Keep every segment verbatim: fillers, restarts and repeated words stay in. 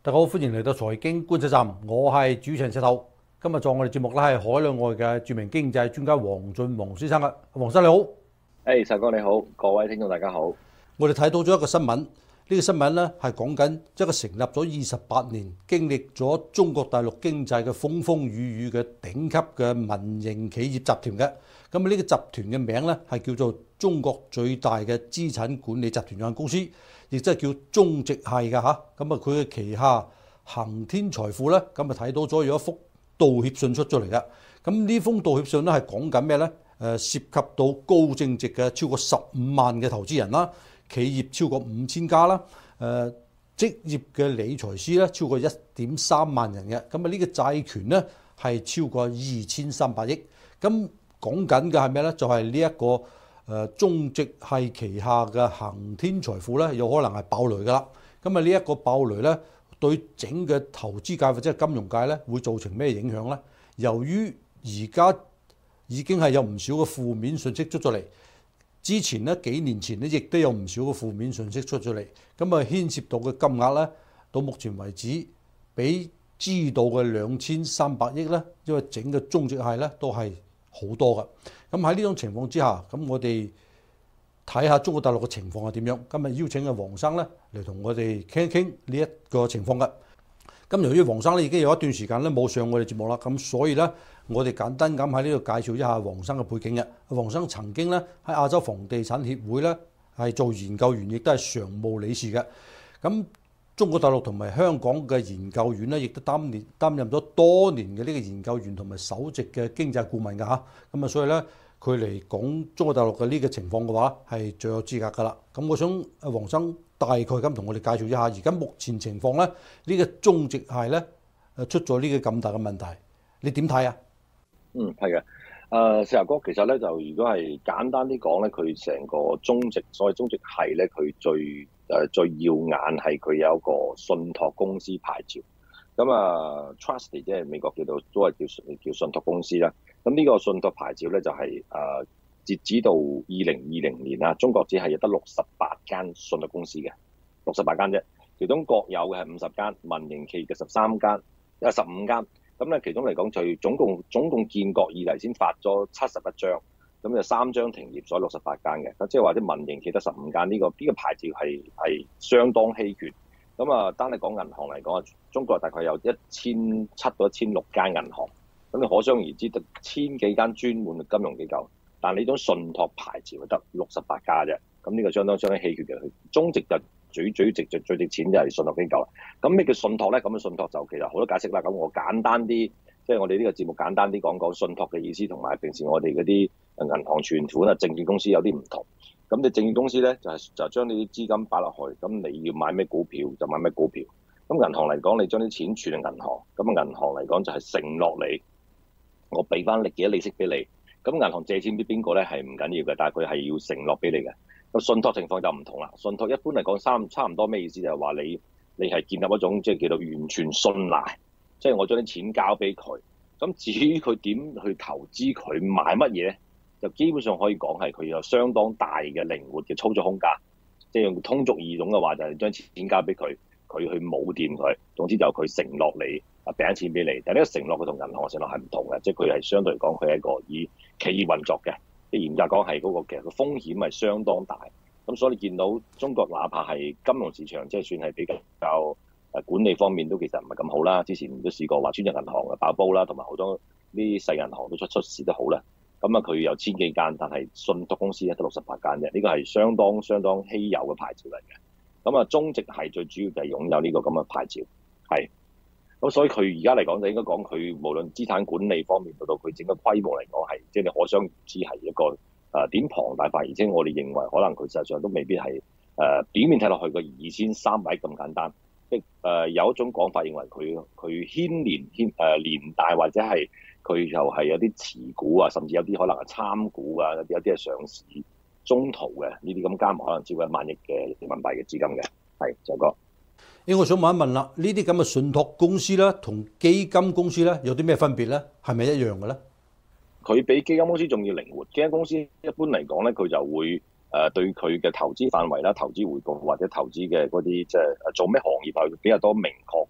大家好，歡迎嚟到財經觀察站，我係主持人石頭。今日做我哋節目咧係海內外嘅著名經濟專家黃俊宏先生嘅，黃生你好。 誒，石哥你好，各位聽眾大家好。 我哋睇到咗一個新聞，呢、這個新聞咧係講緊一個成立咗二十八年、經歷咗中國大陸經濟嘅風風雨雨嘅頂級嘅民營企業集團嘅。咁啊呢個集團嘅名咧係叫做中國最大嘅資產管理集團有限公司，亦即係叫中植系嘅嚇。咁啊佢嘅旗下恒天財富咧，咁啊睇到咗有一幅道歉信出咗嚟嘅。咁呢封道歉信咧係講緊咩咧？誒涉及到高淨值嘅超過十五萬嘅投資人啦，企業超過五千家啦，誒職業嘅理財師咧超過一點三萬人嘅。咁啊呢個債權咧係超過二千三百億。咁講緊嘅係咩咧？就係呢一個誒中植系旗下嘅恒天財富咧，有可能係爆雷噶啦。咁啊呢一個爆雷咧，對整個投資界或者係金融界咧，會造成咩影響咧？由於而家已經係有唔少嘅負面信息出咗嚟，之前咧幾年前咧亦都有唔少嘅負面信息出咗嚟，咁啊牽涉到嘅金額咧，到目前為止比知道嘅兩千三百億咧，因為整個中植系咧都係好多㗎。咁喺呢種情況之下，咁我哋睇下中國大陸嘅情況係點樣。今日邀請嘅黃生咧嚟同我哋傾一傾呢一個情況嘅。咁由於黃生咧已經有一段時間咧冇上我哋節目啦，咁所以咧我哋簡單咁喺呢度介紹一下黃生嘅背景嘅。黃生曾經咧喺亞洲房地產協會咧係做研究員，亦都係常務理事嘅。咁中國大陸同埋香港嘅研究院咧，亦都擔年擔任咗多年嘅呢個研究員同埋首席嘅經濟顧問㗎嚇。咁啊，所以咧佢嚟講中國大陸嘅呢個情況嘅話，係最有資格㗎啦。咁我想阿黃生大概咁同我哋介紹一下，而家目前情況咧，呢個中植系咧誒出咗呢個咁大嘅問題，你點睇啊？ 嗯，係嘅。誒，石頭哥，其實咧就如果係簡單啲講咧，佢成個中植，所謂中植系咧，佢最誒、呃、最耀眼係佢有一個信託公司牌照。咁啊 ，Trustee 即係美國叫做都係叫叫信託公司啦。咁呢個信託牌照咧就係、是、誒、呃、截止到二零二零年啦，中國只係有得六十八間信託公司嘅，六十八間啫。其中國有嘅係五十間，民營企業嘅十三間，有十五間。咁咧，其中嚟講，就總共總共建國以嚟先發咗七十一張，咁有三張停業，所以六十八間嘅。咁即係話啲民營企業得十五間，呢、這個呢、這個牌照係係相當稀缺。咁啊，單係講銀行嚟講，中國大概有一千七到一千六間銀行。咁你可想而知，得千幾間專門嘅金融機構，但係呢種信託牌照得六十八家啫。咁呢個相當相當稀缺嘅。中植就最最值最最值錢就係信託機構啦。咁咩叫信託咧？咁嘅信託就其實好多解釋啦。咁我簡單啲，即係我哋呢個節目簡單啲講講信託嘅意思，同埋平時我哋嗰啲銀行存款啊、證券公司有啲唔同。咁你證券公司咧就係就將呢啲資金擺落去，咁你要買咩股票就買咩股票。咁銀行嚟講，你將啲錢存喺銀行，咁銀行嚟講就係承諾你，我俾翻你幾多利息俾你。咁銀行借錢俾邊個咧係唔緊要嘅，但係佢係要承諾俾你嘅。個信託情況就唔同啦。信託一般嚟講，三差唔多咩意思？就係話你你係建立一種即係叫做完全信賴，即係我將啲錢交俾佢。咁至於佢點去投資，佢買乜嘢，就基本上可以講係佢有相當大嘅靈活嘅操作空間。即係用通俗易懂嘅話，就係將錢交俾佢，佢去冇掂佢。總之就佢承諾你啊，俾錢俾你。但係呢個承諾佢同銀行嘅承諾係唔同嘅，即係佢係相對嚟講佢係一個以企業運作嘅。即係嚴格講係嗰個其實個風險係相當大。咁所以你見到中國哪怕係金融市場，即係算係比較誒管理方面都其實唔係咁好啦。之前都試過話專業銀行嘅爆煲啦，同埋好多呢啲細銀行都出出事都好啦。咁啊，佢有千幾間，但係信託公司咧得六十八間啫。呢個係相當相當稀有嘅牌照嚟嘅。咁啊，中植係最主要就係擁有呢個咁嘅牌照，係。咁所以佢而家嚟講就應該講佢無論資產管理方面到到佢整個規模嚟講係，即係你可想而知係一個。誒點龐大化，而且我哋認為可能佢實際上都未必係誒、呃、表面睇落去個二千三百億咁簡單，即係誒有一種講法認為佢佢牽連牽誒、呃、連帶或者係佢又係有啲持股啊，甚至有啲可能係參股啊，有啲有啲係上市中途嘅呢啲咁加埋可能超過一萬億嘅人民幣嘅資金嘅，係就哥。 誒，我想問一問啦，呢啲咁嘅信託公司咧，同基金公司咧有啲咩分別咧？係咪一樣嘅咧？ 佢比基金公司仲要靈活。基金公司一般嚟講咧，佢就會誒對佢嘅投資範圍啦、投資回報或者投資嘅嗰啲即係做咩行業係比較多明確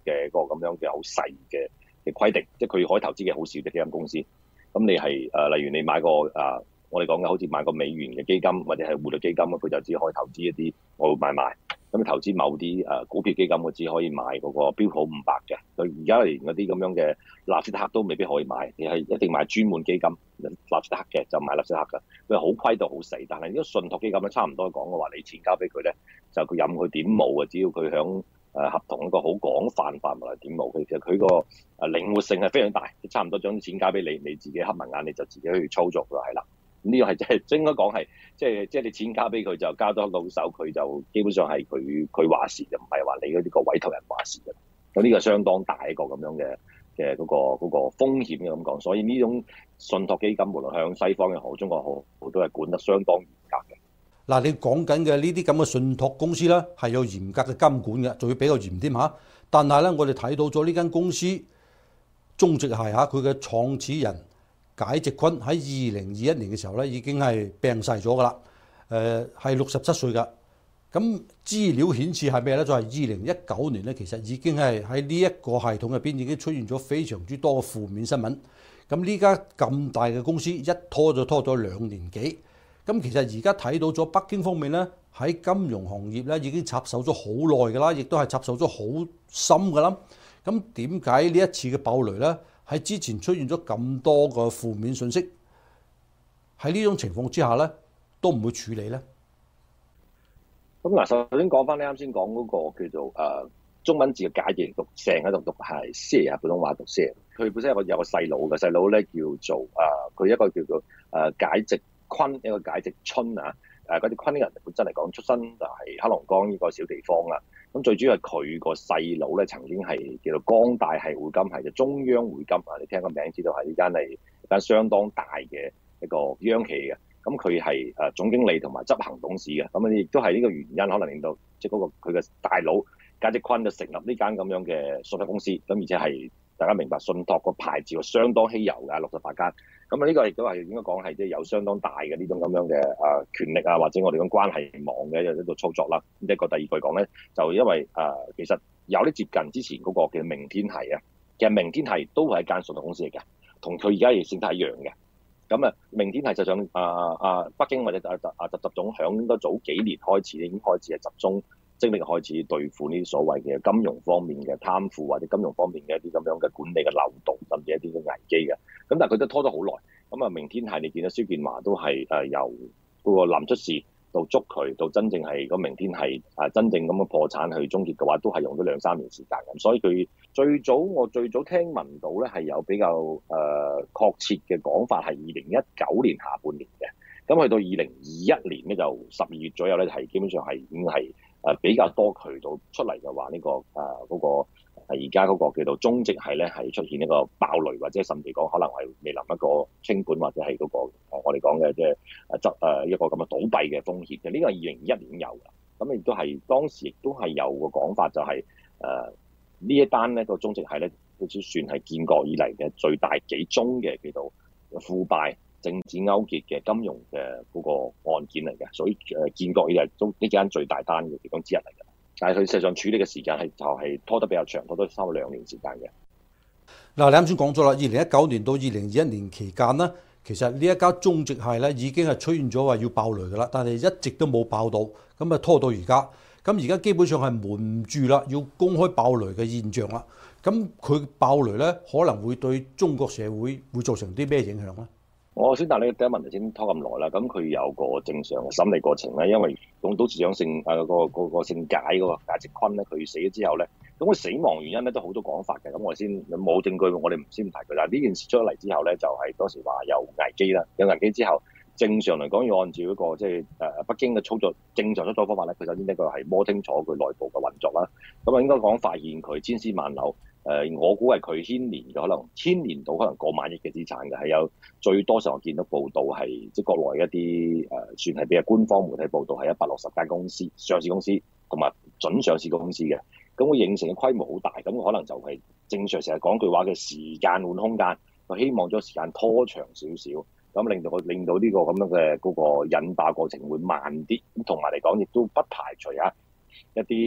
嘅嗰個咁樣嘅好細嘅嘅規定，即係佢可以投資嘅好少嘅基金公司。咁你係誒、呃，例如你買個誒、呃，我哋講嘅好似買個美元嘅基金或者係匯率基金，佢就只可以投資一啲我會買賣。咁你投資某啲誒、呃、股票基金，我只可以買嗰個標普五百嘅。佢而家連嗰啲咁樣嘅納斯達克都未必可以買，你係一定買專門基金納斯達克嘅就買納斯達克嘅。佢好規到好死，但係呢個信託基金咧差唔多講嘅話，你錢交俾佢咧，就佢任佢點冒嘅，只要佢響誒合同一個好廣泛範圍嚟點冒，其實佢個誒靈活性係非常大，差唔多將啲錢交俾你，你自己黑埋眼你就自己去操作就係啦。呢個係即係應該講係，即係即係你錢交俾佢就交多到手，佢就基本上係佢佢話事，就唔係話你嗰啲個委託人話事嘅。咁呢個相當大一個咁樣嘅嘅嗰個嗰個風險嘅咁講，所以呢種信託基金無論向西方又好，中國好，都係管得相當嚴格嘅。 嗱，你講緊嘅呢啲咁嘅信託公司咧，係有嚴格嘅監管嘅，仲要比較嚴添嚇。但係咧，我哋睇到咗呢間公司中植系嚇，佢嘅創始人解植坤喺二零二一年嘅時候咧，已經係病逝咗噶啦。誒係六十七歲㗎。咁資料顯示係咩咧？就係二零一九年咧，其實已經係喺呢一個系統入邊已經出現咗非常之多嘅負面新聞。咁呢家咁大嘅公司一拖就拖咗兩年幾。咁其實而家睇到咗北京方面咧，喺金融行業咧已經插手咗好耐㗎啦，亦都係插手咗好深㗎啦。咁點解呢一次嘅爆雷咧，喺之前出現咗咁多個負面信息，喺呢種情況之下咧，都唔會處理咧？ 咁嗱，首先講翻你啱先講嗰個叫做誒、呃、中文字嘅解字讀成喺度讀係 share，普通話讀 share。佢本身有個有個細佬嘅細佬咧，叫做誒佢、呃、一個叫做誒、呃、解植坤，一個解植春啊。誒嗰啲坤人本身嚟講出身就係黑龍江呢個小地方啦。咁最主要係佢個細佬咧，曾經係叫做光大係匯金係嘅中央匯金啊。你聽個名知道係呢間係一間相當大嘅一個央企嘅。咁佢係誒總經理同埋執行董事嘅，咁啊亦都係呢個原因，可能令到即係嗰個佢嘅大佬解植坤就成立呢間咁樣嘅信託公司，咁而且係大家明白信託個牌照相當稀有㗎，六十八間，咁啊呢個亦都係應該講係即係有相當大嘅呢種咁樣嘅誒權力啊，或者我哋講關係網嘅一個操作啦。咁一個第二句講咧，就因為誒、呃、其實有啲接近之前嗰個嘅明天係啊，其實明天係都係一間信託公司嚟嘅，同佢而家嘅性質一樣嘅。咁啊，明天係就想啊啊北京或者啊啊習習總響應該早幾年開始已經開始係集中精力開始對付呢啲所謂嘅金融方面嘅貪腐或者金融方面嘅一啲咁樣嘅管理嘅漏洞，甚至一啲嘅危機嘅。咁但係佢都拖咗好耐。咁啊，明天係你見到蕭建華都係誒由嗰個臨出事到捉佢，到真正係個明天係啊真正咁樣破產去終結嘅話，都係用咗兩三年時間咁。所以佢最早我最早聽聞到咧係有比較誒、呃、確切嘅講法係二零一九年下半年嘅。咁去到二零二一年咧就十二月左右咧係基本上係已經係誒比較多渠道出嚟嘅話呢、這個誒嗰、呃那個而家嗰個叫做中植系咧係出現一個爆雷，或者甚至講可能係面臨一個清盤或者係嗰、那個我哋講嘅即係誒執誒一個咁嘅倒閉嘅風險嘅。呢、這個係二零二一年有嘅，咁亦都係當時亦都係有個講法就係誒呢一單咧個中植系咧都算係建國以嚟嘅最大幾宗嘅叫做腐敗政治勾結嘅金融嘅嗰個案件嚟嘅，所以誒建國以嚟都呢間最大單嘅其中之一嚟嘅。但係佢實際上處理嘅時間係就係拖得比較長，拖咗差唔多兩年時間嘅。 嗱，你啱先講咗啦，二零一九年到二零二一年期間呢，其實呢一家中植系咧已經係出現咗話要爆雷㗎啦，但係一直都冇爆到，咁啊拖到而家。咁而家基本上係瞞唔住啦，要公開爆雷嘅現象啦。咁佢爆雷咧，可能會對中國社會會造成啲咩影響咧？我先答你第一問題先拖咁耐啦。咁佢有個正常嘅審理過程咧，因為總董事長姓誒個個個姓解嗰個解植坤咧，佢死咗之後咧，咁佢死亡原因咧都好多講法嘅。咁我哋先冇證據，我哋唔先唔提佢。但係呢件事出咗嚟之後咧，就係、是、當時話有危機啦，有危機之後，正常嚟講要按照一個即係誒北京嘅操作正常操作方法咧，佢首先呢個係摸清楚佢內部嘅運作啦。咁啊應該講發現佢千絲萬縷。誒、呃，我估係佢牽連嘅，可能牽連到可能過萬億嘅資產嘅，係有最多時候我見到報道係即係國內一啲誒、呃，算係比較官方媒體報道係一百六十間公司上市公司同埋準上市公司嘅，咁會形成嘅規模好大，咁可能就係正常成日講句話嘅時間換空間，佢希望將時間拖長少少，咁令到我令到呢個咁樣嘅嗰個引爆過程會慢啲，咁同埋嚟講亦都不排除啊一啲。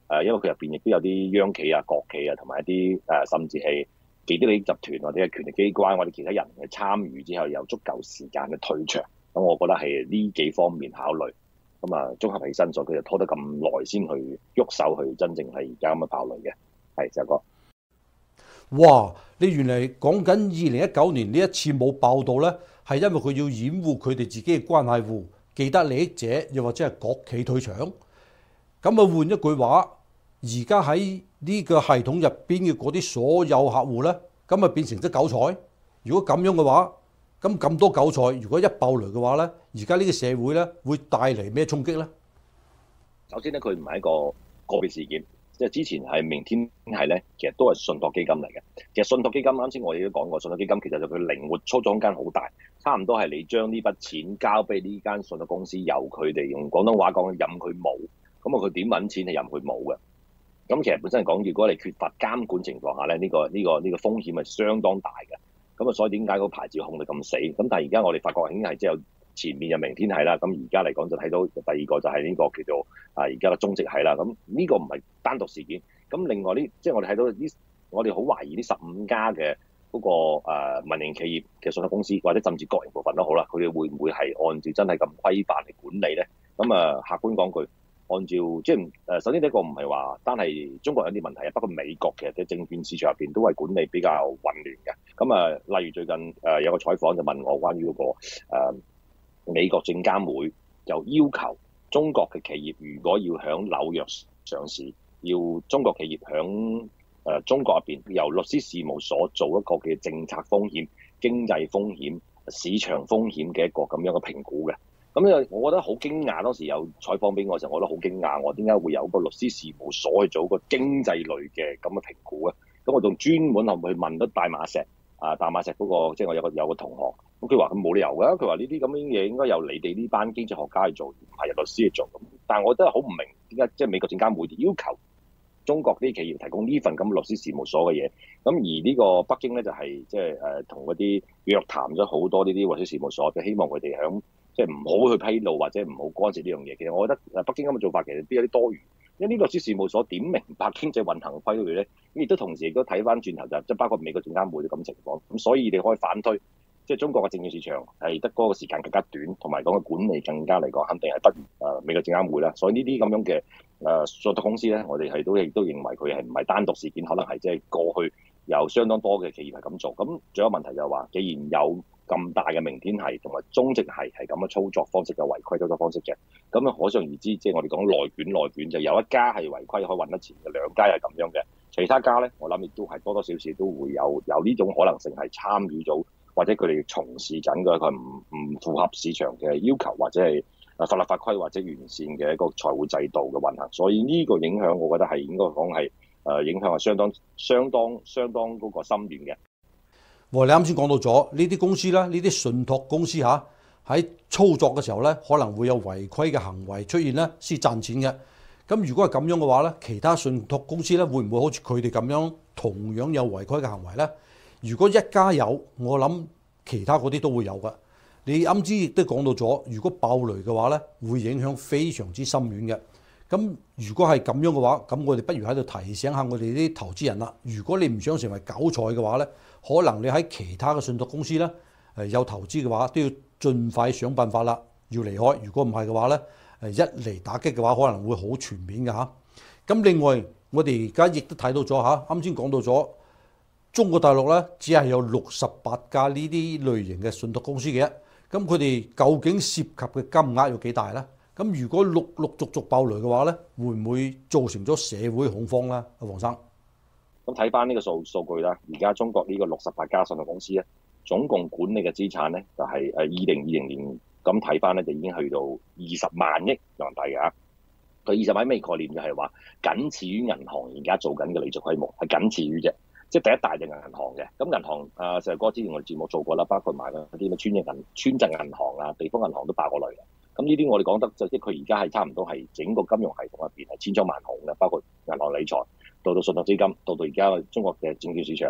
誒，因為佢入邊亦都有啲央企啊、國企啊，同埋一啲誒，甚至係幾啲利益集團或者係權力機關或者其他人嘅參與之後，有足夠時間嘅退場。咁我覺得係呢幾方面考慮。咁啊，綜合起身，所以佢就拖得咁耐先去喐手去真正係而家咁嘅爆雷嘅。係，石哥。 哇！你原嚟講緊二零一九年呢一次冇爆到呢，係因為佢要掩護佢哋自己嘅關係戶、既得利益者，又或者係國企退場。咁啊，換一句話，而家喺呢個系統入邊嘅嗰啲所有客戶呢，咁啊變成咗韭菜。如果咁樣嘅話，咁咁多韭菜，如果一爆雷嘅話呢，而家呢個社會呢會帶嚟咩衝擊呢？ 首先咧，佢唔係一個個別事件，即係之前係明天係咧，其實都係信託基金嚟嘅。其實信託基金啱先我哋都講過，信託基金其實就佢靈活操作空間好大，差唔多係你將呢筆錢交俾呢間信託公司，由佢哋用廣東話講，任佢冇，咁啊佢點揾錢係任佢冇嘅。咁其實本身講，如果你缺乏監管情況下咧，呢、呢個呢、呢個呢、呢個風險係相當大嘅。咁啊，所以點解個牌照控得咁死？咁但係而家我哋發覺已經係即係前面就明天係啦，咁而家嚟講就睇到第二個就係呢個叫做啊而家嘅中植係啦。咁呢個唔係單獨事件。咁另外呢，即係我哋睇到呢，我哋好懷疑呢十五家嘅嗰個誒民營企業嘅信託公司，或者甚至國營部分都好啦，佢哋會唔會係按照真係咁規範嚟管理咧？咁啊，客觀講句。按照即係誒，首先呢一個唔係話單係中國有啲問題啊，不過美國其實嘅證券市場入邊都係管理比較混亂嘅。咁啊，例如最近誒有個採訪就問我關於嗰個誒美國證監會就要求中國嘅企業如果要響紐約上市，要中國企業響誒中國入邊由律師事務所做一個嘅政策風險、經濟風險、市場風險嘅一個咁樣嘅評估嘅。咁咧，我覺得好驚訝。當時有採訪俾我嘅時候，我覺得好驚訝。我點解會有個律師事務所去做個經濟類嘅咁嘅評估咧？咁我仲專門去問咗大馬石啊，大馬石嗰、那個即係、就是、我有個有個同學，咁佢話佢冇理由㗎。佢話呢啲咁樣嘢應該由你哋呢班經濟學家去做，唔係由律師去做。咁但係我真係好唔明點解即係美國證監會要求中國啲企業提供呢份咁嘅律師事務所嘅嘢。咁而呢個北京咧就係即係誒同嗰啲約談咗好多呢啲律師事務所，就希望佢哋響。即係唔好去披露或者唔好干涉呢樣嘢。其實我覺得誒北京咁嘅做法其實邊有啲多餘，因為呢個律師事務所點明白經濟運行規律咧，亦都同時亦都睇翻轉頭就即係包括美國證監會啲咁情況。咁所以你可以反推，即係中國嘅證券市場係得嗰個時間更加短，同埋講嘅管理更加嚟講，肯定係不如誒美國證監會啦。所以呢啲咁樣嘅誒信託公司咧，我哋係都亦都認為佢係唔係單獨事件，可能係即係過去有相當多嘅企業係咁做。咁仲有問題就係話，既然有咁大嘅明天係同埋中植係係咁嘅操作方式嘅違規操作方式嘅，咁啊可想而知，即係我哋講內卷內卷，就有一家係違規可以揾得錢嘅，兩家係咁樣嘅，其他家咧我諗亦都係多多少少都會有有呢種可能性係參與咗，或者佢哋從事緊嘅佢唔唔符合市場嘅要求，或者係啊法律法規或者完善嘅一個財務制度嘅運行，所以呢個影響我覺得係應該講係誒影響係相當相當相當嗰個深遠嘅。 你啱先講到咗呢啲公司啦，呢啲信託公司嚇喺操作嘅時候咧，可能會有違規嘅行為出現咧，先賺錢嘅。咁如果係咁樣嘅話咧，其他信託公司咧會唔會好似佢哋咁樣同樣有違規嘅行為咧？如果一家有，我諗其他嗰啲都會有㗎。你啱先亦都講到咗，如果爆雷嘅話咧，會影響非常之深遠嘅。咁如果係咁樣嘅話，咁我哋不如喺度提醒下我哋啲投資人啦。如果你唔想成為韭菜嘅話咧，可能你喺其他嘅信託公司咧，誒有投資嘅話，都要盡快想辦法啦，要離開。如果唔係嘅話咧，誒一嚟打擊嘅話，可能會好全面嘅嚇。咁另外，我哋而家亦都睇到咗嚇，啱先講到咗中國大陸咧，只係有六十八家呢啲類型嘅信託公司嘅。咁佢哋究竟涉及嘅金額有幾大咧？咁如果陸陸續續爆雷嘅話咧，會唔會造成咗社會恐慌咧？阿黃生， 咁睇翻呢個數數據啦，而家中國呢個六十八家信託公司咧，總共管理嘅資產咧就係誒二零二零年咁睇翻咧，就已經去到二十萬億人民幣嘅。佢二十萬咩概念？就係話僅次於銀行而家做緊嘅理財規模，係僅次於啫。即係第一大就係銀行嘅。咁銀行啊，石哥之前我哋節目做過啦，包括埋嗰啲咩村鎮銀村鎮銀行啊、地方銀行都爆過雷嘅。咁呢啲我哋講得就即係佢而家係差唔多係整個金融系統入邊係千瘡萬孔嘅，包括銀行理財，到到信託基金，到到而家中國嘅證券市場，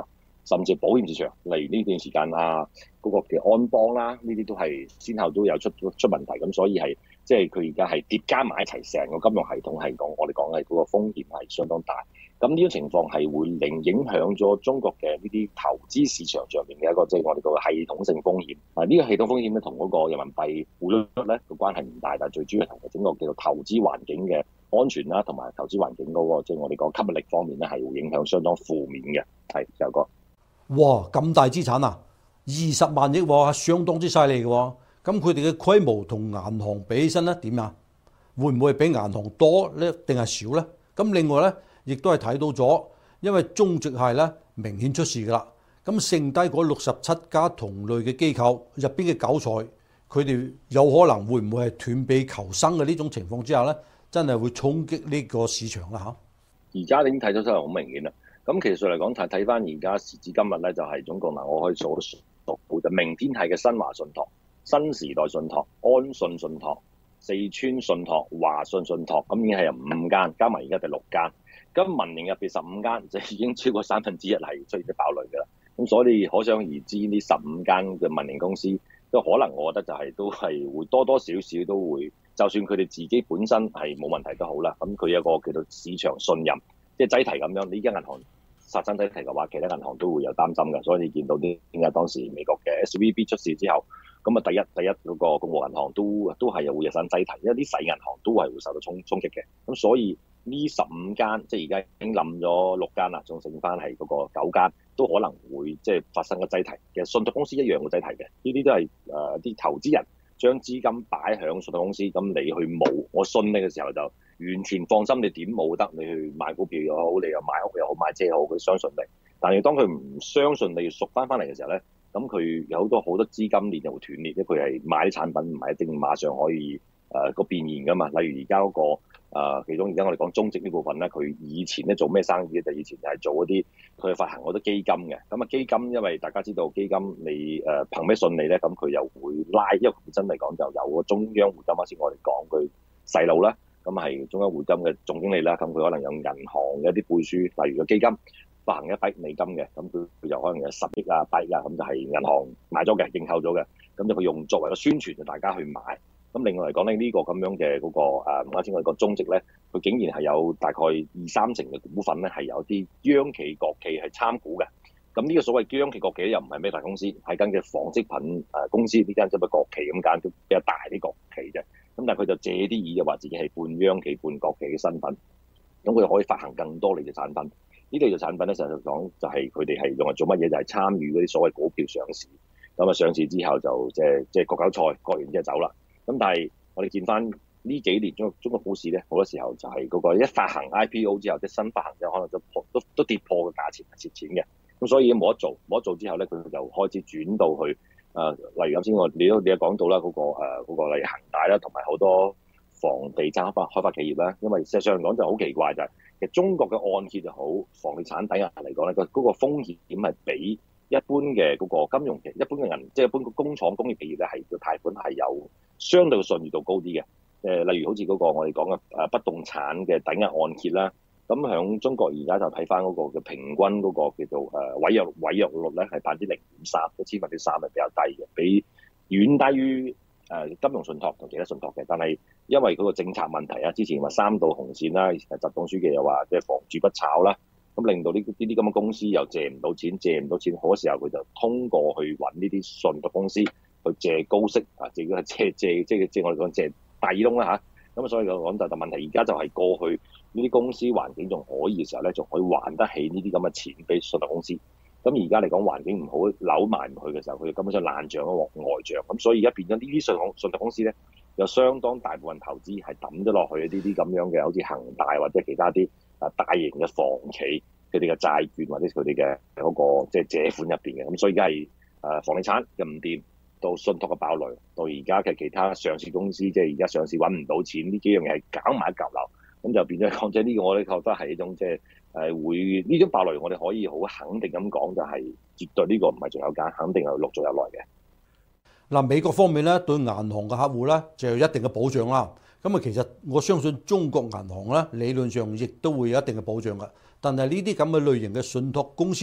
甚至保險市場，例如呢段時間啊，嗰、那個嘅安邦啦，呢啲都係先後都有出出問題，咁所以係即係佢而家係疊加埋一齊，成個金融系統係講我哋講係嗰個風險係相當大。咁呢種情況係會令影響咗中國嘅呢啲投資市場上面嘅一個即係、就是、我哋個系統性風險。啊，呢、這個系統風險咧同嗰個人民幣匯率咧個關係唔大，但係最主要係同整個叫做投資環境嘅安全啦，同埋投資環境嗰、那個即係、就是、我哋講吸引力方面咧係會影響相當負面嘅。係有個哇咁大資產啊，二十萬億喎，係相當之犀利嘅喎。咁佢哋嘅規模同銀行比起身咧點啊？會唔會比銀行多咧，定係少咧？咁另外咧，亦都係睇到咗，因為中植系咧明顯出事㗎啦。咁剩低嗰六十七家同類嘅機構入邊嘅韭菜，佢哋有可能會唔會係斷臂求生嘅呢種情況之下咧，真係會衝擊呢個市場啦嚇。 而家已經睇到真係好明顯啦。咁其實嚟講睇睇翻而家時至今日咧，就係、是、總共嗱，我可以數數數就明天系嘅新華信託、新時代信託、安信信託、四川信託、華信信託，咁已經係有五間，加埋而家第六間。咁民營入邊十五間，就已經超過三分之一係出現咗爆雷㗎啦。咁所以可想而知，呢十五間嘅民營公司都可能，我覺得就係、是、都係會多多少少都會，就算佢哋自己本身係冇問題都好啦。咁佢有個叫做市場信任，即係擠提咁樣，呢間銀行殺親擠提嘅話，其他銀行都會有擔心嘅。所以你見到啲點解當時美國嘅 S V B 出事之後，咁啊第一第一嗰個共和銀行都都係會有散擠提，因為啲細銀行都係會受到衝衝擊嘅。咁所以呢十五間即係而家已經冧咗六間啦，仲剩翻係嗰個九間，都可能會即係發生個擠提。其實信託公司一樣會擠提嘅，呢啲都係誒啲投資人將資金擺響信託公司，咁你去冇，我信你嘅時候就完全放心，你點冇得，你去買股票又好，你又買屋又好，買車又好，佢相信你。但係當佢唔相信你贖翻翻嚟嘅時候咧，咁佢有好多好多資金鏈就會斷裂，因為佢係買啲產品唔係一定馬上可以誒個、呃、變現噶嘛。例如而家嗰個誒、呃，其中而家我哋講中植呢部分咧，佢以前咧做咩生意咧？就以前就係做嗰啲佢發行好多基金嘅。咁啊基金，因為大家知道基金你誒、呃、憑咩信你咧？咁佢又會拉，因為本身嚟講就有個中央匯金，啱先我哋講佢細路啦。咁係中央匯金嘅總經理啦，咁佢可能有銀行嘅一啲背書，例如個基金發行一筆美金嘅，咁佢佢就可能有十億啊、八億啊，咁就係銀行買咗嘅、認購咗嘅，咁就佢用作為個宣傳，就大家去買。咁另外嚟講咧，呢、這個咁樣嘅嗰、那個誒啱先我哋個中植咧，佢竟然係有大概二三成嘅股份咧，係有啲央企國企係參股嘅。咁呢個所謂央企國企又唔係咩大公司，係間嘅紡織品誒公司，呢間只不過國企咁間，都比較大啲國企啫。咁但係佢就借啲意，就話自己係半央企半國企嘅身份，咁佢可以發行更多類嘅產品。呢類嘅產品咧，實際講就係佢哋係用嚟做乜嘢？就係、是、參與嗰啲所謂股票上市。咁啊上市之後就即係即係割韭菜，割完之後走啦。咁但係我哋見翻呢幾年中中國股市咧，好多時候就係嗰個一發行 I P O 之後，即係新發行之後，可能就破都都跌破嘅價錢係蝕錢嘅。咁所以冇得做，冇得做之後咧，佢就開始轉到去誒、呃，例如啱先我你都你都講到啦，嗰、那個誒、呃那個例如恒大啦，同埋好多房地產開發開發企業啦。因為事實上嚟講就好奇怪就係、是，其實中國嘅按揭就好，房地產抵押嚟講咧，個嗰個風險係比一般嘅嗰個金融企、一般嘅銀，即係一般嘅工廠工業企業咧，係個貸款係有相對嘅信譽度高啲嘅。誒、呃，例如好似嗰個我哋講嘅誒不動產嘅抵押按揭啦。咁響中國而家就睇翻嗰個嘅平均嗰個叫做誒違約違約率咧，係百分之零點三，一千分之三係比較低嘅，比遠低於誒金融信託同其他信託嘅。但係因為嗰個政策問題啊，之前話三道紅線啦，習總書記又話即係房住不炒啦，咁令到呢呢啲咁嘅公司又借唔到錢，借唔到錢，好多時候佢就通過去揾呢啲信託公司去借高息啊，借係借借即係即係我哋講借底窿啦嚇。咁所以講就就問題，而家就係過去呢啲公司環境仲可以嘅時候咧，仲可以還得起呢啲咁嘅錢俾信託公司。咁而家嚟講環境唔好，扭埋唔去嘅時候，佢根本上爛帳咯，呆帳。咁所以而家變咗呢啲信託信託公司咧，有相當大部分投資係抌咗落去呢啲咁樣嘅，好似恒大或者其他啲啊大型嘅房企佢哋嘅債券或者佢哋嘅嗰個即係借款入邊嘅。咁所以而家係誒房地產嘅唔掂，到信託嘅爆雷，到而家嘅其他上市公司，即係而家上市揾唔到錢，呢幾樣嘢係搞埋一嚿流，咁就變咗講，即係呢個我哋覺得係一種即係誒會呢種爆雷，我哋可以好肯定咁講，就係絕對呢個唔係仲有間，肯定係陸續有來嘅。 嗱，美國方面咧對銀行嘅客戶咧就有一定嘅保障啦。咁啊，其實我相信中國銀行咧理論上亦都會有一定嘅保障嘅。但係呢啲咁嘅類型嘅信託公司咧，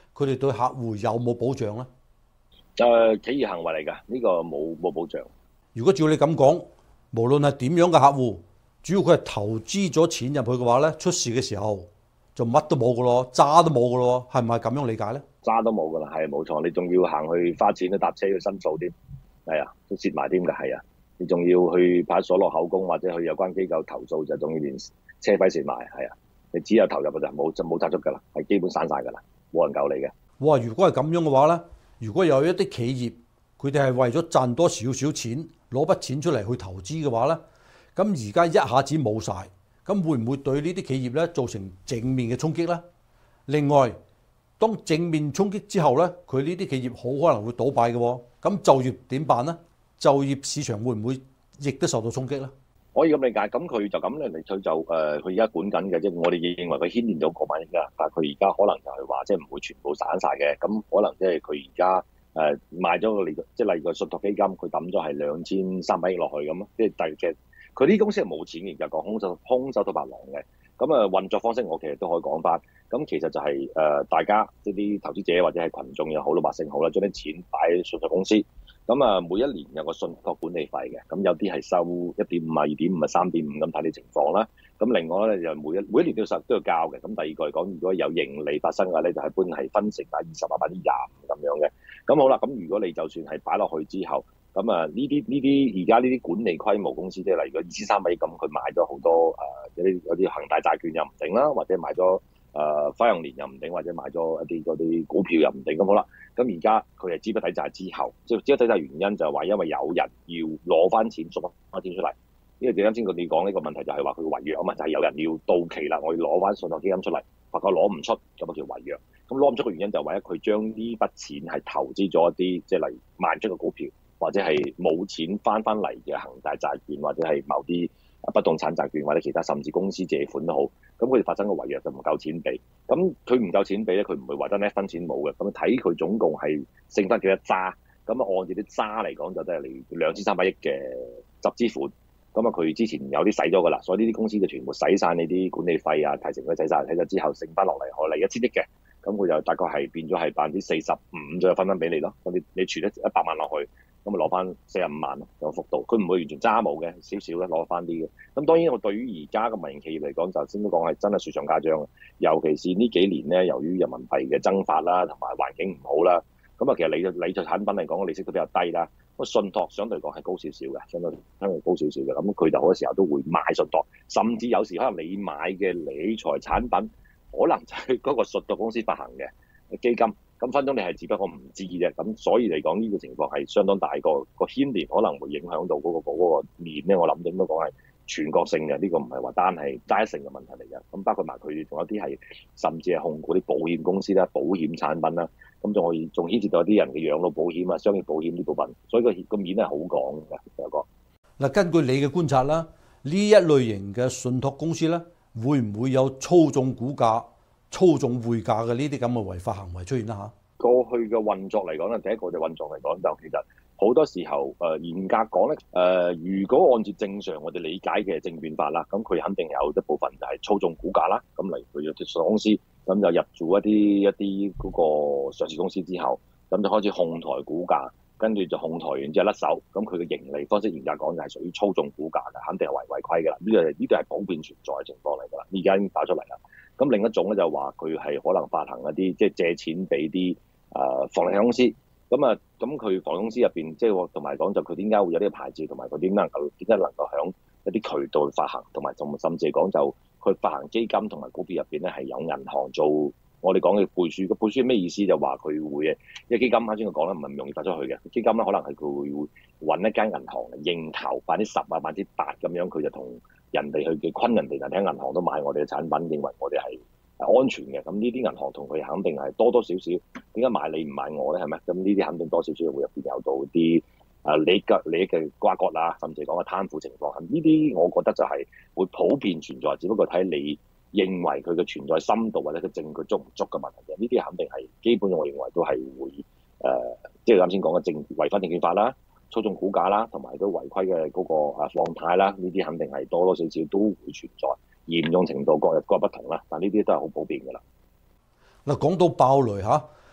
佢哋對客戶有冇保障咧？ 誒、呃，企業行為嚟㗎，呢、這個冇冇保障。 如果照你咁講，無論係點樣嘅客戶，主要佢係投資咗錢入去嘅話咧，出事嘅時候就乜都冇㗎咯，渣都冇㗎咯，係唔係咁樣理解咧？ 渣都冇㗎啦，係冇錯，你仲要行去花錢去搭車去申訴添，係啊，都蝕埋添㗎，係啊，你仲要去派出所落口供或者去有關機構投訴，就仲要連車費蝕埋，係啊，你只有投入㗎咋，冇就冇賺足㗎啦，係基本散晒㗎啦，冇人救你嘅。 哇！如果係咁樣嘅話咧，如果有一啲企業佢哋係為咗賺多少少錢，攞筆錢出嚟去投資嘅話咧，咁而家一下子冇晒，咁會唔會對呢啲企業咧造成正面嘅衝擊咧？另外，當正面衝擊之後咧，佢呢啲企業好可能會倒閉嘅喎，咁就業點辦咧？就業市場會唔會亦都受到衝擊咧？ 可以咁理解，咁佢就咁咧嚟，佢就誒，佢而家管緊嘅，即係我哋認為佢牽連咗過萬億㗎，但係佢而家可能就係話，即係唔會全部散晒嘅，咁可能即係佢而家誒賣咗個利，即係例如個信託基金，佢抌咗係兩千三百億落去咁咯，即係第嘅，佢呢啲公司係冇錢嘅，就講空手空手套白狼嘅，咁啊運作方式我其實都可以講翻，咁其實就係、是、誒、呃、大家即係啲投資者或者係群眾又好，老百姓好啦，將啲錢擺喺信託公司。咁啊，每一年有個信託管理費嘅，咁有啲係收一點五啊、二點五啊、三點五咁睇你情況啦。咁另外咧就每一每一年都要都要交嘅。咁第二個嚟講，如果有盈利發生嘅咧，就係一般係分成百分之二十啊、百分之廿五咁樣嘅。咁好啦，咁如果你就算係擺落去之後，咁啊呢啲呢啲而家呢啲管理規模公司，即係例如二千三百億咁，佢買咗好多誒、呃、有啲有啲恒大債券又唔定啦，或者買咗。誒、呃、花樣年又唔定，或者買咗一啲嗰啲股票又唔定，咁好啦。咁而家佢係資不抵債之後，即係資不抵債原因就係話因為有人要攞翻錢，贖翻錢出嚟。呢個啱先佢哋講呢個問題就係話佢違約啊嘛，就係、是、有人要到期啦，我要攞翻信託基金出嚟，發覺攞唔出，咁啊叫違約。咁攞唔出嘅原因就係為咗佢將呢筆錢係投資咗一啲，即係例如賣出嘅股票，或者係冇錢翻翻嚟嘅恒大債券，或者係某啲不動產債券或者其他，甚至公司借款都好，咁佢哋發生個違約就唔夠錢俾，咁佢唔夠錢俾咧，佢唔會話得呢一分錢冇嘅，咁睇佢總共係剩翻幾多渣，咁啊按照啲渣嚟講就都係嚟兩千三百億嘅集資款，咁啊佢之前有啲使咗噶啦，所以呢啲公司就全部使晒呢啲管理費啊、提成佢使晒，睇咗之後剩翻落嚟可嚟一千億嘅，咁佢就大概係變咗係百分之四十五左右分翻俾你咯，咁你你存咗一百萬落去。咁咪攞翻四十五萬咯，有幅度。佢唔會完全揸冇嘅，少少咧攞翻啲嘅。咁當然我對於而家嘅民營企業嚟講，就先都講係真係雪上加霜。尤其是呢幾年咧，由於人民幣嘅增發啦，同埋環境唔好啦，咁啊其實理理財產品嚟講，個利息都比較低啦。個信託相對嚟講係高少少嘅，相對相對高少少嘅。咁佢就好多時候都會買信託，甚至有時可能你買嘅理財產品，可能就係嗰個信託公司發行嘅基金。咁分鐘你係只不過唔知啫，咁所以嚟講呢個情況係相當大個個牽連，可能會影響到嗰、嗰個嗰、嗰個面咧。我諗應該講係全國性嘅，呢、呢個唔係話單係單一性嘅問題嚟嘅。咁包括埋佢仲有啲係甚至係控股啲保險公司啦、保險產品啦，咁仲可以仲牽涉到一啲人嘅養老保險啊、商業保險呢部分，所以個個面係好廣嘅。有個嗱，根據你嘅觀察啦，呢一類型嘅信託公司咧，會唔會有操縱股價、操縱匯價嘅呢啲咁嘅違法行為出現啦？嚇， 過去嘅運作嚟講咧，第一個就運作嚟講就其實好多時候誒、呃、嚴格講咧誒，如果按照正常我哋理解嘅證券法啦，咁佢肯定有一部分就係操縱股價啦。咁例如佢有啲上市公司咁就入駐一啲一啲嗰個上市公司之後，咁就開始控台股價，跟住就控台完之後甩手，咁佢嘅盈利方式嚴格講就係屬於操縱股價嘅，肯定係違違規㗎啦。呢個呢個係普遍存在嘅情況嚟㗎啦，而家已經打出嚟啦。咁另一種咧就話佢係可能發行一啲即係借錢俾啲誒房地產公司，咁啊咁佢房地產公司入邊即係同埋講就佢點解會有呢個牌照，同埋佢點能夠點解能夠響一啲渠道發行，同埋仲甚至係講就佢發行基金同埋股票入邊咧係有銀行做我哋講嘅背書。個背書係咩意思？就話佢會嘅，因為基金啱先我講啦，唔係咁容易發出去嘅。基金咧可能係佢會揾一間銀行嚟認投百分之十啊、百分之八咁樣，佢就同人哋去嘅昆人哋，人哋喺銀行都買我哋嘅產品，認為我哋係安全嘅。咁呢啲銀行同佢肯定係多多少少，點解買你唔買我咧？係咪？咁呢啲肯定多少少會入邊有到啲啊利益嘅利益嘅瓜葛啊，甚至講嘅貪腐情況。呢啲我覺得就係會普遍存在，只不過睇你認為佢嘅存在深度或者佢證據足唔足嘅問題嘅。呢啲肯定係基本，我認為都係會誒、呃，即係啱先講嘅證違反證券法啦。操縱股價啦，同埋都違規嘅嗰個啊放貸啦，呢啲肯定係多多少少都會存在，嚴重程度各日各不同啦。但呢啲都係好普遍㗎啦。 嗱，講到爆雷嚇，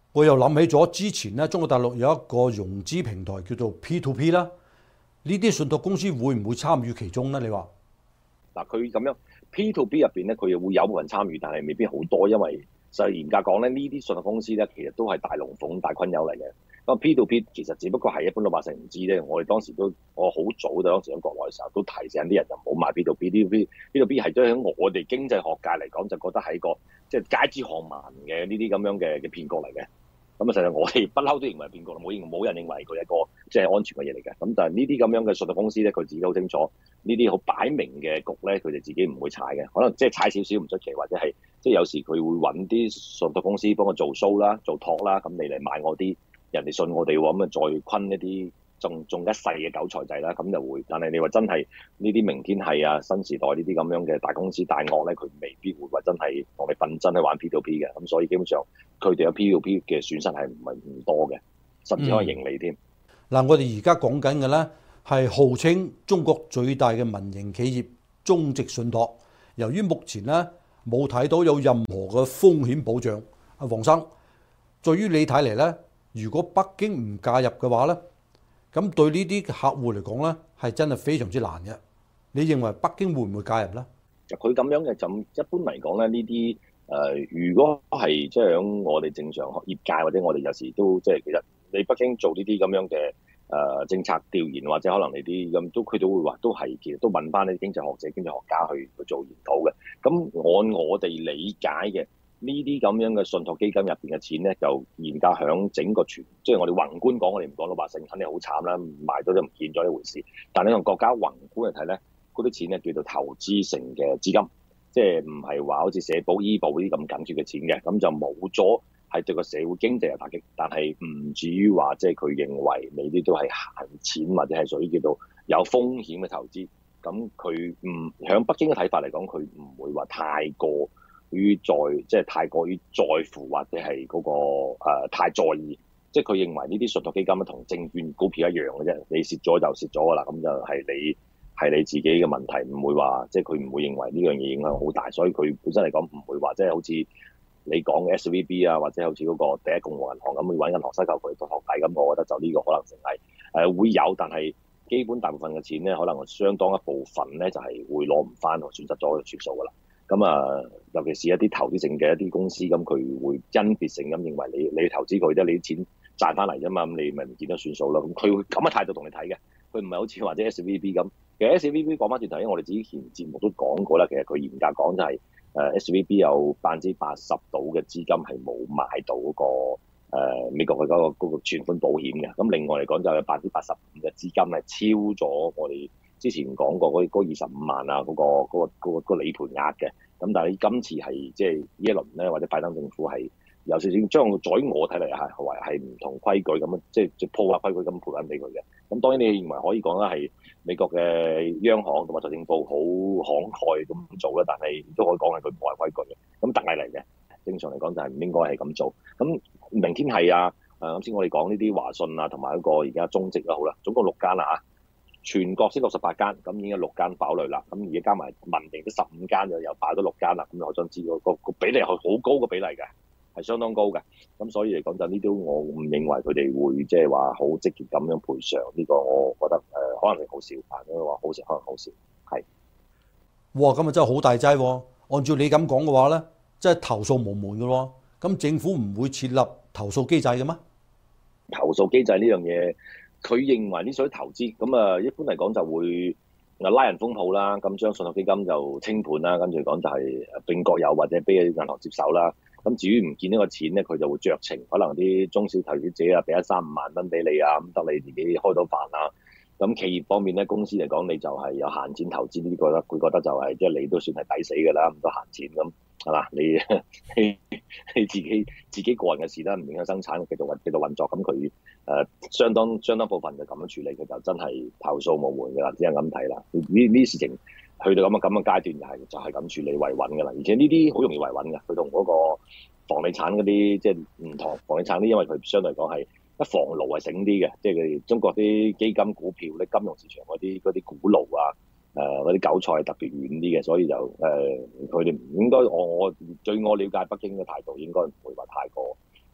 我又諗起咗之前咧，中國大陸有一個融資平台叫做 P to P 啦，呢啲信託公司會唔會參與其中咧？你話嗱，佢咁樣 P to P 入邊咧，佢又會有部分參與，但係未必好多，因為實際嚴格講咧，呢啲信託公司咧，其實都係大龍鳳、大昆友嚟嘅。咁 P to P 其實只不過係一般老百姓唔知啫。我哋當時都，我好早當時喺國內嘅時候都提醒啲人就唔好買 P to P。P to P P to P 係對喺我哋經濟學界嚟講，就覺得係一個即係街知巷聞嘅呢啲咁樣嘅嘅騙局嚟嘅。咁啊，實際我哋不嬲都認為係騙局，冇冇人認為佢係一個即係安全嘅嘢嚟嘅。咁但係呢啲咁樣嘅信託公司咧，佢自己好清楚呢啲好擺明嘅局咧，佢哋自己唔會踩嘅。可能即係踩少少唔出奇，或者係即係有時佢會揾啲信託公司幫我做 show 啦、做託啦，咁你嚟買我啲，人哋信我哋喎，咁啊再昆一啲中中一世嘅韭菜仔啦，咁就會。但係你話真係呢啲明天係啊、新時代呢啲咁樣嘅大公司大鱷咧，佢未必會話真係同你瞓真去玩 P to P 嘅。咁所以基本上佢哋有 P to P 嘅損失係唔係唔多嘅，甚至可以盈利添。 嗱、嗯，我哋而家講緊嘅咧係號稱中國最大嘅民營企業中植信託，由於目前咧冇睇到有任何嘅風險保障，阿黃生，對於你睇嚟咧，如果北京唔介入嘅話咧，咁對呢啲客戶嚟講咧，係真係非常之難嘅。你認為北京會唔會介入咧？ 佢咁樣嘅就一般嚟講咧，呢啲誒，如果係即係喺我哋正常業界或者我哋有時都即係其實你北京做呢啲咁樣嘅誒、呃、政策調研，或者可能你啲咁都佢都會話都係其實都問翻啲經濟學者、經濟學家去去做研討嘅。咁按我哋理解嘅。呢啲咁樣嘅信託基金入邊嘅錢咧，就嚴格響整個全，即係我哋宏觀講，我哋唔講老百姓，肯定好慘啦，賣咗都唔見咗一回事。但係你從國家宏觀嚟睇咧，嗰啲錢咧叫做投資性嘅資金，即係唔係話好似社保、醫保呢啲咁緊缺嘅錢嘅，咁就冇咗係對個社會經濟有打擊，但係唔至於話即係佢認為你啲都係閒錢或者係屬於叫做有風險嘅投資。咁佢唔響北京嘅睇法嚟講，佢唔會話太過。於在即係太過於在乎或者係嗰、那個、呃、太在意，即係佢認為呢啲信託基金咧同證券股票一樣嘅啫，你蝕咗就蝕咗㗎啦，咁就係你係你自己嘅問題，唔會話即係佢唔會認為呢樣嘢影響好大，所以佢本身嚟講唔會話即係好似你講嘅 S V B 啊，或者好似嗰個第一共和銀行咁去揾銀行收購佢做學弟咁，我覺得就呢個可能性係誒、呃、會有，但係基本大部分嘅錢咧，可能相當一部分咧就係、是、會攞唔翻，損失咗就算數㗎啦。咁啊，尤其是一啲投資性嘅一啲公司，咁佢會因別性咁認為你你投資佢啫，你啲錢賺翻嚟啫嘛，咁你咪唔見得算數咯。咁佢會咁嘅態度同你睇嘅，佢唔係好似或者 S V B 咁。其實 S V B 講翻轉頭，因為我哋之前節目都講過啦，其實佢嚴格講就係誒 S V B 有百分之八十到嘅資金係冇買到嗰、那個、呃、美國嘅嗰、那個嗰、那個存款保險嘅。咁另外嚟講就有百分之八十五嘅資金係超咗我哋之前講過嗰嗰二十五萬啊，嗰、那個嗰、那個嗰、那個那個理賠額嘅。咁但係你今次係即係呢一輪咧，或者拜登政府係有少少將在我睇嚟係為係唔同規矩咁樣，即係即係破壞規矩咁賠緊俾佢嘅。咁當然你認為可以講啦，係美國嘅央行同埋財政部好慷慨咁做啦，但係都可以講係佢破壞規矩嘅。咁特例嚟嘅，正常嚟講就係唔應該係咁做。咁明天係啊，誒啱先我哋講呢啲華信啊，同埋一個而家中植啦，好啦，總共六間啦嚇。全國先六十八間，咁已經有六間爆雷啦。咁而家加埋民營都十五間，就又爆咗六間啦。咁我想知個個個比例係好高嘅比例嘅，係相當高嘅。咁所以嚟講就呢啲，我唔認為佢哋會即係話好積極咁樣賠償。呢、這個我覺得誒、呃、可能係好少，但係話好少可能好少。係。哇！ 咁啊真係好大劑喎。按照你咁講嘅話咧，即係投訴無門嘅咯。咁政府唔會設立投訴機制嘅咩？ 投訴機制呢樣嘢。佢認為呢啲投資咁啊，一般嚟講就會啊拉人封鋪啦，咁將信託基金就清盤啦，跟住講就係並國有或者俾銀行接手啦。咁至於唔見呢個錢咧，佢就會酌情，可能啲中小投資者啊俾一三五萬蚊俾你啊，咁得你自己開到飯啦。咁企業方面咧，公司嚟講你就係有閒錢投資呢啲，覺得佢覺得就係即係你都算係抵死㗎啦，咁多閒錢咁。係嘛？你你你自己自己個人嘅事啦，唔影響生產，繼續運繼續運作。咁佢誒相當相當部分就咁樣處理，佢就真係投訴無門㗎啦，只係咁睇啦。呢呢啲事情去到咁嘅咁嘅階段，就係就係咁處理維穩㗎啦。而且呢啲好容易維穩㗎，佢同嗰個房地產嗰啲即係唔同。房地產啲因為佢相對嚟講係一房奴係醒啲嘅，即係佢中國啲基金股票咧，金融市場嗰啲嗰啲股奴啊。誒嗰啲韭菜係特別遠啲嘅，所以就誒佢哋唔應該我我據我了解北京嘅態度應該唔會話太過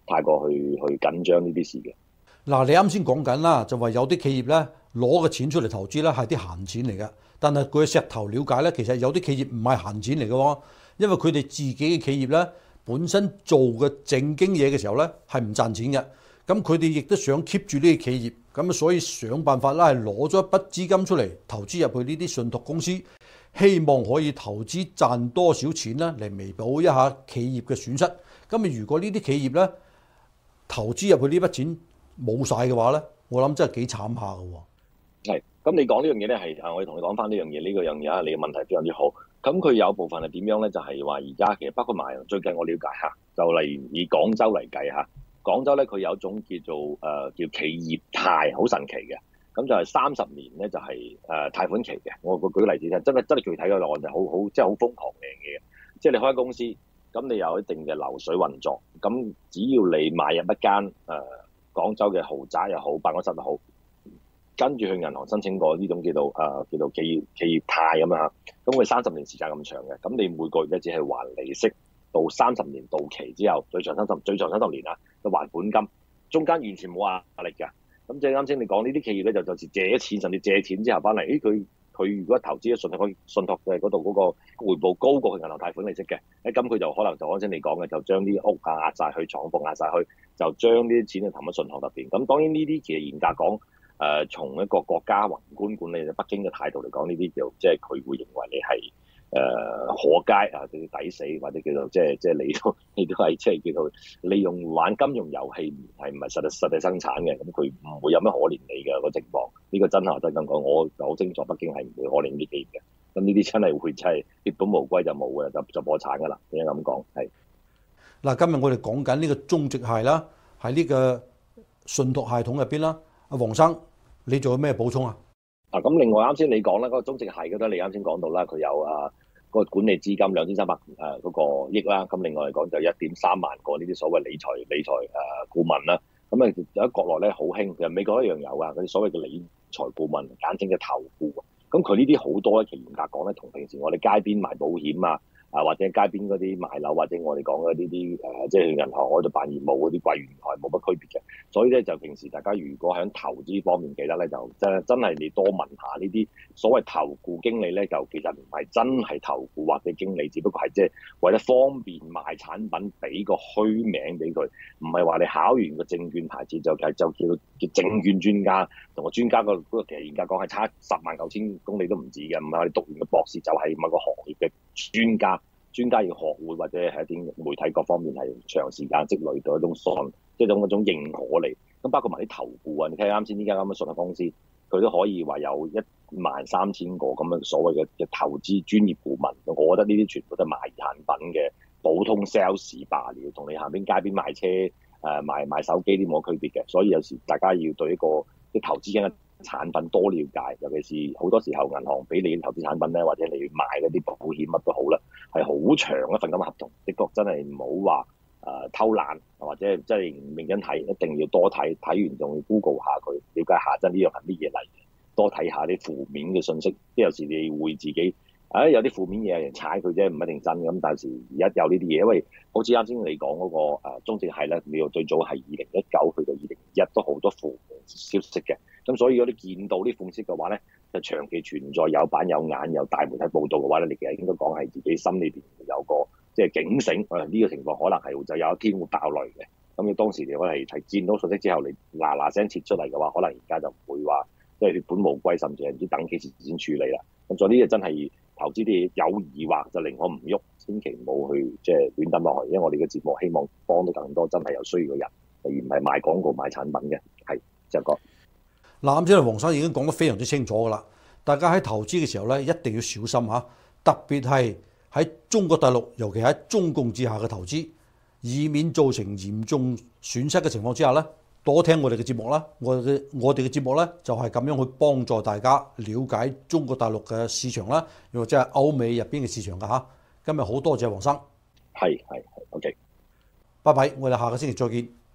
太過去去緊張呢啲事嘅。 嗱，你啱先講緊啦，就話有啲企業咧攞嘅錢出嚟投資咧係啲閒錢嚟嘅，但係佢石頭了解咧，其實有啲企業唔係閒錢嚟嘅喎，因為佢哋自己嘅企業咧本身做嘅正經嘢嘅時候咧係唔賺錢嘅，咁佢哋亦都想 keep 住呢啲企業，咁所以想辦法啦係攞咗一筆資金出嚟投資入去呢啲信託公司，希望可以投資賺多少錢啦嚟彌補一下企業嘅損失。咁如果呢啲企業咧投資入去呢筆錢冇晒嘅話咧，我諗真係幾慘下嘅喎。 係，咁你講呢樣嘢咧係啊，我哋同你講翻呢樣嘢，呢、這個樣嘢啊，你嘅問題非常之好。咁佢有部分係點樣咧？就係話而家其實包括埋最近我了解下，就例如以廣州嚟計下，廣州咧佢有一種叫做誒、呃、叫企業貸，好神奇嘅。咁就係三十年咧，就係、是、誒、呃、貸款期嘅。我我舉個例子，真係真係具體嘅案就好好，即係好瘋狂嘅嘢。即係你開公司，咁你有一定嘅流水運作，咁只要你買入一間誒、呃、廣州嘅豪宅又好，辦公室又好，跟住去銀行申請過呢種叫做誒、呃、叫做企業企業貸咁樣嚇，咁佢三十年時間咁長嘅，咁你每個月咧只係還利息，到三十年到期之後，最長三十最長三十年啊，就還本金，中間完全冇壓力㗎。咁即係啱先你講呢啲企業咧，就就是借錢，甚至借錢之後翻嚟，誒佢佢如果投資喺信託信託嘅嗰度嗰個回報高過佢銀行貸款利息嘅，誒咁佢就可能就啱先你講嘅，就將啲屋啊壓晒去，廠房壓晒去，就將呢啲錢就投喺信託入邊。咁當然呢啲其實嚴格講，誒、呃、從一個國家宏觀管理北京嘅態度嚟講，呢啲就即係佢會認為你係。誒、呃、可街啊，叫抵死，或者叫做即係即係你都你都係即係叫做利用玩金融遊戲，係唔係實際實際生產嘅？咁佢唔會有咩可憐你嘅個情況。呢、這個真係真咁講，我就好清楚，北京係唔會可憐呢啲企業嘅。咁呢啲真係會真係血本無歸就冇嘅，就就破產㗎啦。點解咁講？係嗱，今日我哋講緊呢個中植系啦，喺呢個信託系統入邊啦。阿黃生，你仲有咩補充啊？ 啊，咁另外啱先你講啦，嗰、那個中植系嗰啲你啱先講到啦，佢有啊。個管理資金兩千三百誒嗰個億啦，咁另外嚟講就一點三萬個呢啲所謂理財理財誒顧問啦，咁啊喺國內咧好興，其實美國一樣有啊，嗰啲所謂嘅理財顧問，簡稱嘅投顧，咁佢呢啲好多咧，其實嚴格講咧，同平時我哋街邊賣保險啊，啊或者街邊嗰啲賣樓或者我哋講嘅呢啲誒，即係銀行嗰度辦業務嗰啲櫃員台冇乜區別嘅，所以咧就平時大家如果喺投資方面記得咧，就真真係你多問下呢啲所謂投顧經理咧，就其實唔係真係投顧或者經理，只不過係即係為咗方便賣產品，俾個虛名俾佢，唔係話你考完個證券牌照就就叫叫證券專家，同個專家個嗰個其實嚴格講係差十萬九千公里都唔止嘅，唔係我哋讀完個博士就係某個行業嘅專家。專家要學會或者係一啲媒體各方面係長時間積累到一種信，即係種嗰種認可嚟。咁包括埋啲投顧啊，你睇啱先呢間咁嘅信託公司，佢都可以話有一萬三千個咁嘅所謂嘅嘅投資專業顧問。我覺得呢啲全部都係賣產品嘅普通 sales 罷了，同你下邊街邊賣車誒賣賣手機啲冇區別嘅。所以有時大家要對一個啲投資嘅產品多了解，尤其是好多時候銀行俾你投資產品咧，或者你買嗰啲保險乜都好啦，係好長一份咁嘅合同，的確真係唔好話誒偷懶，或者真係唔認真睇，一定要多睇，睇完仲要 Google 下佢，了解下真呢樣係乜嘢嚟，多睇下啲負面嘅信息，即係有時你會自己。誒、哎、有啲負面嘢有人踩佢啫，唔一定真咁。但係時而家有呢啲嘢，因為好似啱先你講嗰、那個誒中植系咧，你要最早係二零一九去到二零二一都好多負面消息嘅。咁所以如果你見到啲負面消息嘅話咧，就長期存在有板有眼有大媒體報導嘅話咧，你其實應該講係自己心裏邊有個即係警醒。誒、這、呢個情況可能係就有一天會爆雷嘅。咁你當時你可能係睇見到信息之後，你嗱嗱聲撤出嚟嘅話，可能而家就唔會話即係血本無歸，甚至係唔知等幾時先處理啦。咁所以呢個真係。投資啲嘢有疑惑就寧可唔喐，千祈唔好去即係亂抌落去，因為我哋嘅節目希望幫到更多真係有需要嘅人，而唔係賣廣告賣產品嘅。係，就講嗱，啱先黃生已經講得非常之清楚噶啦，大家喺投資嘅時候咧一定要小心嚇，特別係喺中國大陸，尤其喺中共之下嘅投資，以免造成嚴重損失嘅情況之下咧。多聽我哋嘅節目啦，我嘅我哋嘅節目咧就係咁樣去幫助大家了解中國大陸嘅市場啦，又或者係歐美入邊嘅市場㗎嚇。今日好多謝黃生， 係係係 OK， 拜拜，我哋下個星期再見。